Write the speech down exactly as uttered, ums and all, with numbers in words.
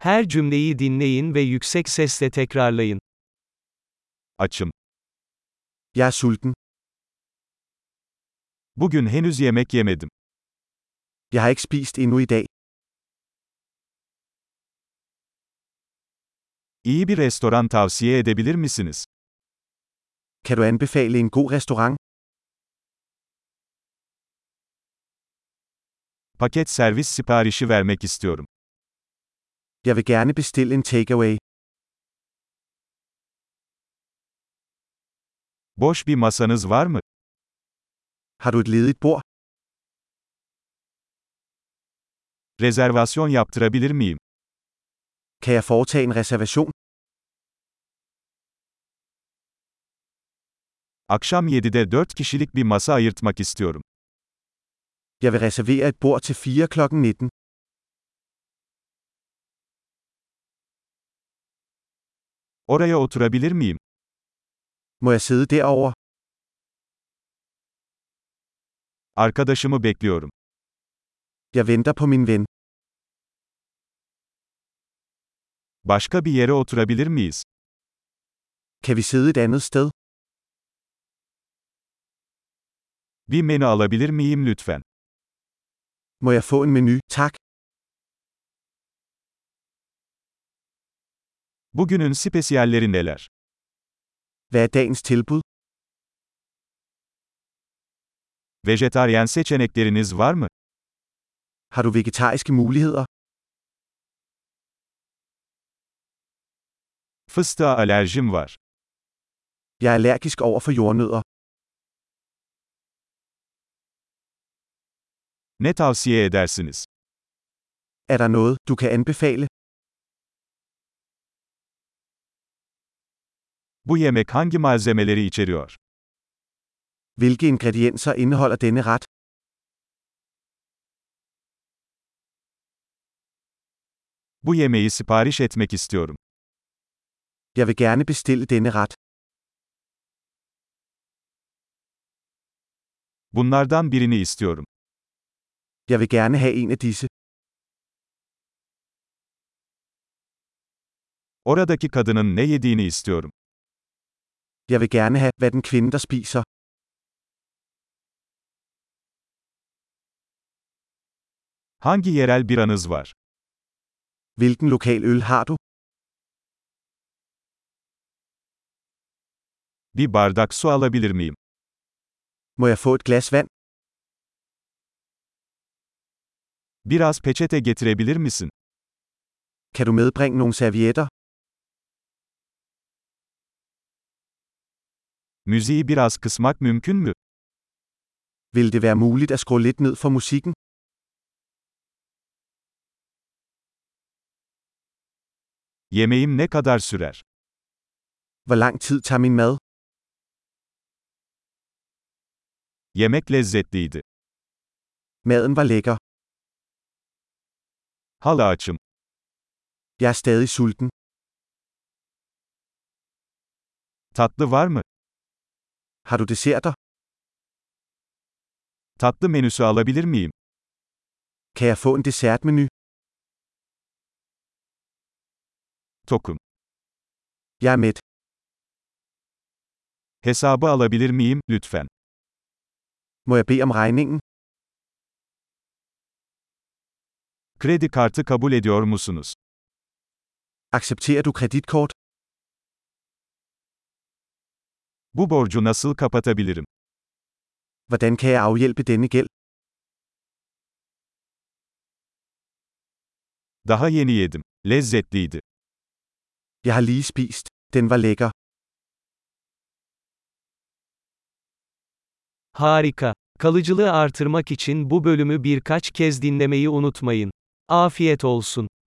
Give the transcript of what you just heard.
Her cümleyi dinleyin ve yüksek sesle tekrarlayın. Açım. Jeg er sulten. Bugün henüz yemek yemedim. Jeg har ikke spist endnu i dag. İyi bir restoran tavsiye edebilir misiniz? Kan du anbefale en god restaurant? Paket servis siparişi vermek istiyorum. Jeg vil gerne bestille en takeaway. Boş bir masanız var mı? Har du et ledigt bord? Rezervasyon yaptırabilir miyim? Kan jeg foretage en reservation? Akşam yedide dört kişilik bir masa ayırtmak istiyorum. Jeg vil reservere et bord til fire klokken nitten. Oraya oturabilir miyim? Må jeg sidde derovre? Arkadaşımı bekliyorum. Jeg venter på min ven. Başka bir yere oturabilir miyiz? Kan vi sidde et andet sted? Bir menü alabilir miyim lütfen? Må jeg få en menu, tak? Bugünün spesiyalleri neler? Hvad er dagens tilbud? Vejetaryen seçenekleriniz var mı? Har du vegetariske muligheder? Fıstığa alerjim var. Jeg er allergisk over for jordnødder. Ne tavsiye edersiniz? Er der noget, du kan anbefale? Bu yemek hangi malzemeleri içeriyor? Hvilke ingredienser indeholder denne ret? Bu yemeği sipariş etmek istiyorum. Jeg vil gerne bestille denne ret. Bunlardan birini istiyorum. Jeg vil gerne have en af disse. Oradaki kadının ne yediğini istiyorum. Jeg vil gerne have, hvad den kvinde, der spiser. Hangi yerel biranız var? Hvilken lokal øl har du? Bir bardak su alabilir miyim? Må jeg få et glas vand? Biraz peçete getirebilir misin? Kan du medbringe nogle servietter? Müziği biraz kısmak mümkün mü? Vil det være muligt at skrue lidt ned for musikken? Yemeğim ne kadar sürer? Hvor lang tid tager min mad? Yemek lezzetliydi. Maden var lækker. Hala açım. Jeg er stadig sulten. Tatlı var mı? Har du desserter? Tatlı menüsü alabilir miyim? Kan jeg få en dessertmenu? Tokum. Jeg er mæt. Hesabı alabilir miyim, lütfen? Må jeg bede om regningen? Kredi kartı kabul ediyor musunuz? Accepterer du kreditkort? Bu borcu nasıl kapatabilirim? Hvordan kan jeg afhjælpe denne gæld? Daha yeni yedim. Lezzetliydi. Jeg har lige spist. Den var lækker. Harika. Kalıcılığı artırmak için bu bölümü birkaç kez dinlemeyi unutmayın. Afiyet olsun.